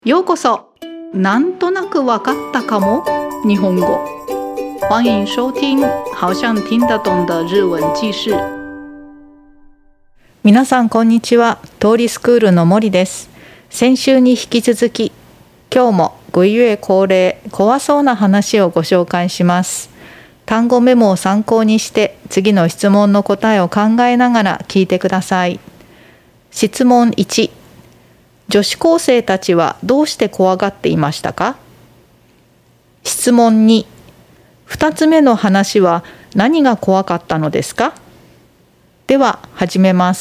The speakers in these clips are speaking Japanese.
ようこそ。なんとなくわかったかも日本語。欢迎收听好像听得懂的日文記事。皆さんこんにちは。通りスクールの森です。先週に引き続き、今日も5月恒例怖そうな話をご紹介します。単語メモを参考にして次の質問の答えを考えながら聞いてください。質問1、女子高生たちはどうして怖がっていましたか？質問2、2つ目の話は何が怖かったのですか？では始めます。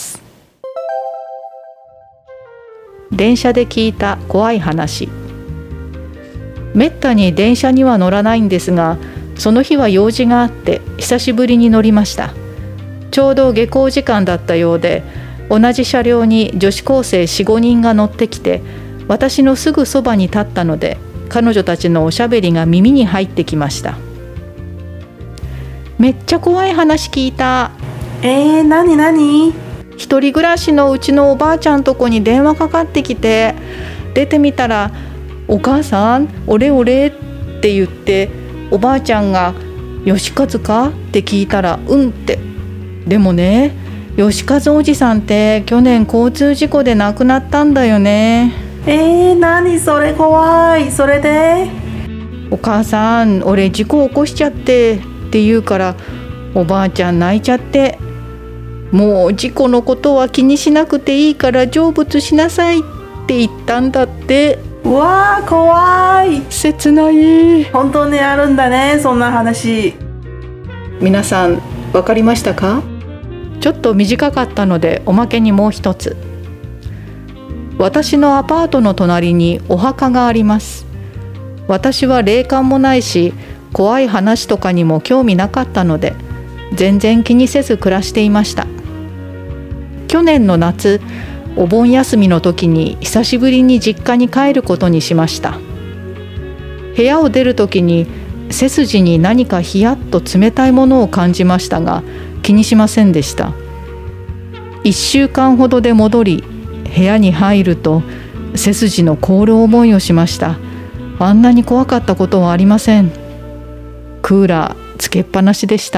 電車で聞いた怖い話。めったに電車には乗らないんですが、その日は用事があって久しぶりに乗りました。ちょうど下校時間だったようで、同じ車両に女子高生 4,5 人が乗ってきて、私のすぐそばに立ったので、彼女たちのおしゃべりが耳に入ってきました。めっちゃ怖い話聞いた。 なに？ 一人暮らしのうちのおばあちゃんとこに電話かかってきて、出てみたら、お母さん、俺って言って、おばあちゃんが、吉和かって聞いたら、うんって。でもね、吉和おじさんって去年交通事故で亡くなったんだよね。 何それ怖い。それで？ お母さん、俺事故起こしちゃってって言うから、おばあちゃん泣いちゃって、もう事故のことは気にしなくていいから成仏しなさいって言ったんだって。 うわー怖い。 切ない。 本当にあるんだね、そんな話。 皆さん分かりましたか？ちょっと短かったのでおまけにもう一つ。私のアパートの隣にお墓があります。私は霊感もないし、怖い話とかにも興味なかったので、全然気にせず暮らしていました。去年の夏、お盆休みの時に久しぶりに実家に帰ることにしました。部屋を出る時に背筋に何かヒヤッと冷たいものを感じましたが、気にしませんでした。1週間ほどで戻り、部屋に入ると背筋の凍る思いをしました。あんなに怖かったことはありません。クーラーつけっぱなしでした。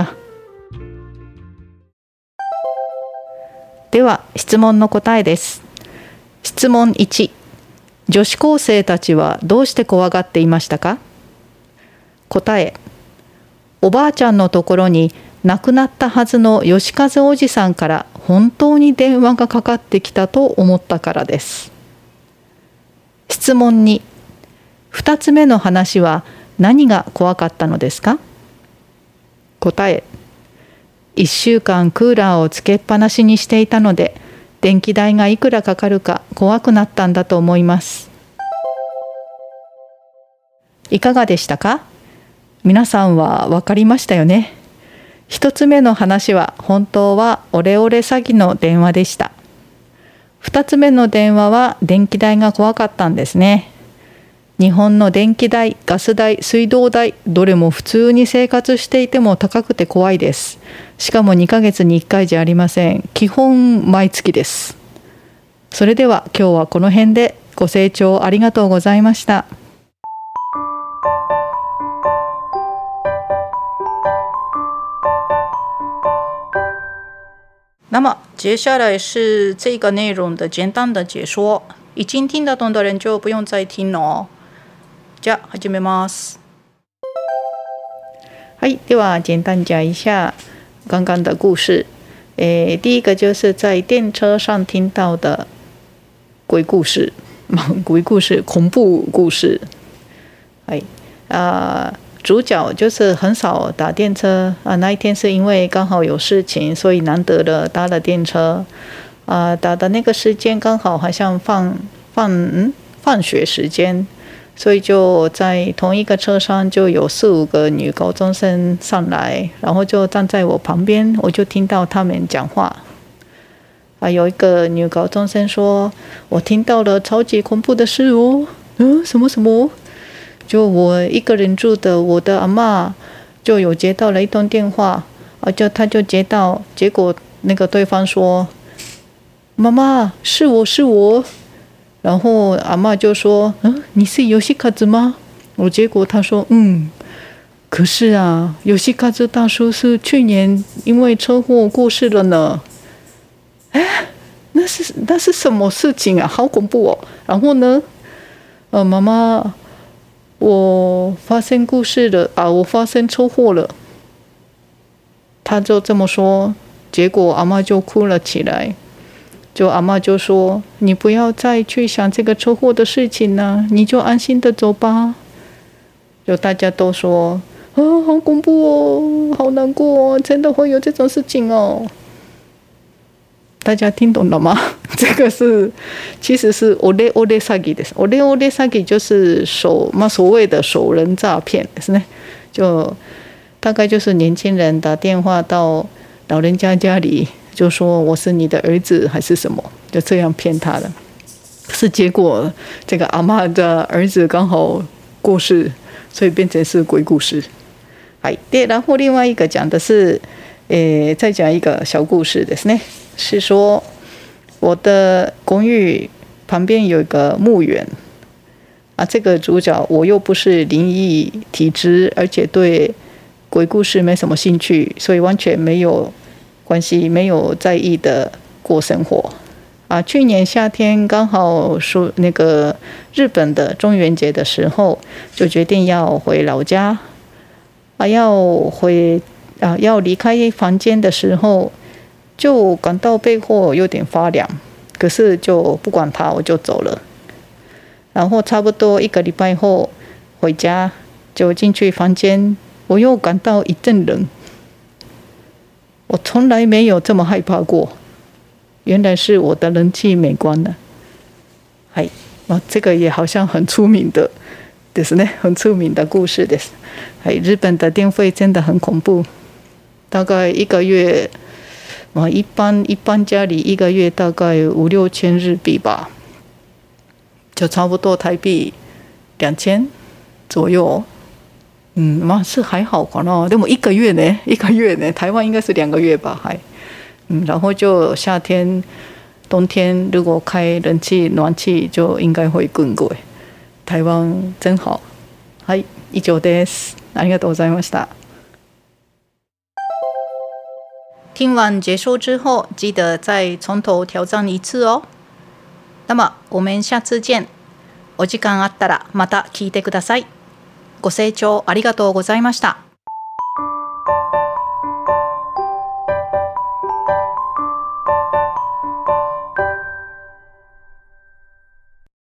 では質問の答えです。質問1、女子高生たちはどうして怖がっていましたか？答え、おばあちゃんのところに亡くなったはずの吉和おじさんから本当に電話がかかってきたと思ったからです。質問2、2つ目の話は何が怖かったのですか？答え、1週間クーラーをつけっぱなしにしていたので、電気代がいくらかかるか怖くなったんだと思います。いかがでしたか？皆さんは分かりましたよね。一つ目の話は本当はオレオレ詐欺の電話でした。二つ目の電話は電気代が怖かったんですね。日本の電気代、ガス代、水道代、どれも普通に生活していても高くて怖いです。しかも2ヶ月に1回じゃありません。基本毎月です。それでは今日はこの辺で。ご清聴ありがとうございました。那么接下来是这个内容的简单的解说，已经听得懂的人就不用再听了哦。じゃあ始めます。はい、では简单讲一下刚刚的故事。第一个就是在电车上听到的鬼故事，鬼故事、恐怖故事。はい、主角就是很少打电车那一天是因为刚好有事情，所以难得的搭了电车打的那个时间刚好好像放学时间，所以就在同一个车上就有4-5个女高中生上来，然后就站在我旁边，我就听到他们讲话有一个女高中生说，我听到了超级恐怖的事哦。什么？就我一个人住的，我的阿嬷就有接到了一通电话他就接到，结果那个对方说，妈妈是我， 然后阿嬷就说：“你是ヨシカズ吗？”结果他说：“可是啊，ヨシカズ大叔是去年因为车祸过世了呢。”那是什么事情啊？好恐怖哦！然后呢，妈妈，我发生故事了啊，我发生车祸了。他就这么说，结果阿嬷就哭了起来。阿嬷就说：“你不要再去想这个车祸的事情了，你就安心的走吧。”大家都说：“好恐怖哦，好难过哦，真的会有这种事情哦。”大家听懂了吗？这个其实是オレオレ詐欺です。オレオレ詐欺就是所谓的熟人诈骗ですね。大概就是年轻人打电话到老人家家里，就说我是你的儿子还是什么，就这样骗他的。可是结果这个阿嬷的儿子刚好过世，所以变成是鬼故事。对，然后另外一个讲的是，再讲一个小故事ですね。是说我的公寓旁边有一个墓园啊，这个主角我又不是灵异体质，而且对鬼故事没什么兴趣，所以完全没有关系，没有在意的过生活啊。去年夏天刚好说那个日本的中元节的时候，就决定要回老家啊，要离开房间的时候，就感到背后有点发凉，可是就不管它，我就走了。然后差不多1个礼拜后回家，就进去房间，我又感到一阵冷。我从来没有这么害怕过，原来是我的冷气没关了。这个也好像很出名的ですね，很出名的故事です。日本的电费真的很恐怖，大概1个月。一般家里1个月大概5-6千日币吧，就差不多台币2000左右。是还好かな。でも1个月呢，台湾应该是2个月吧，然后就夏天、冬天如果开冷气、暖气就应该会更贵。台湾真好。以上です。ありがとうございました。听完结束之后，记得再从头挑战一次哦。那么我们下次见。お時間あったらまた聞いてください。ご清聴ありがとうございました。